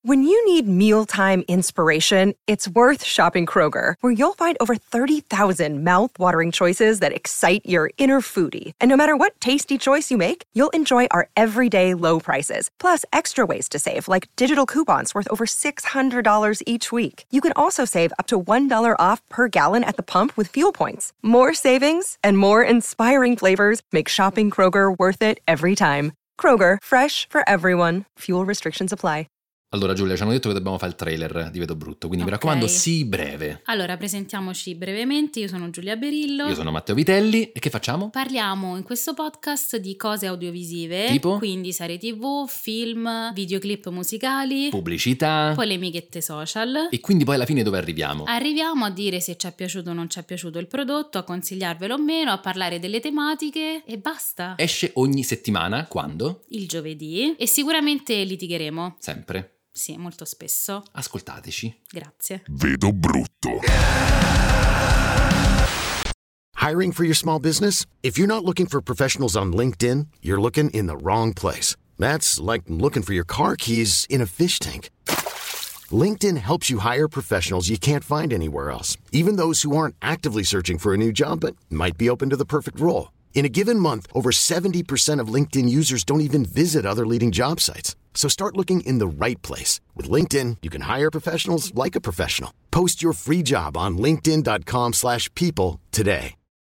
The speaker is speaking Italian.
When you need mealtime inspiration, it's worth shopping Kroger, where you'll find over 30,000 mouth-watering choices that excite your inner foodie. And no matter what tasty choice you make, you'll enjoy our everyday low prices, plus extra ways to save, like digital coupons worth over $600 each week. You can also save up to $1 off per gallon at the pump with fuel points. More savings and more inspiring flavors make shopping Kroger worth it every time. Kroger, fresh for everyone. Fuel restrictions apply. Allora Giulia, ci hanno detto che dobbiamo fare il trailer di Vedo Brutto, quindi mi raccomando, sii breve. Allora, presentiamoci brevemente, io sono Giulia Berillo. Io sono Matteo Vitelli, e che facciamo? Parliamo in questo podcast di cose audiovisive, tipo? Quindi serie TV, film, videoclip musicali, pubblicità, polemichette social. E quindi poi alla fine dove arriviamo? Arriviamo a dire se ci è piaciuto o non ci è piaciuto il prodotto, a consigliarvelo o meno, a parlare delle tematiche e basta. Esce ogni settimana, quando? Il giovedì, e sicuramente litigheremo. Sempre. Sì, molto spesso. Ascoltateci. Grazie. Vedo Brutto. Hiring for your small business? If you're not looking for professionals on LinkedIn, you're looking in the wrong place. That's like looking for your car keys in a fish tank. LinkedIn helps you hire professionals you can't find anywhere else, even those who aren't actively searching for a new job but might be open to the perfect role. In a given month, over 70% of LinkedIn users don't even visit other leading job sites. So start looking in the right place. With LinkedIn, you can hire professionals like a professional. Post your free job on linkedin.com/people today.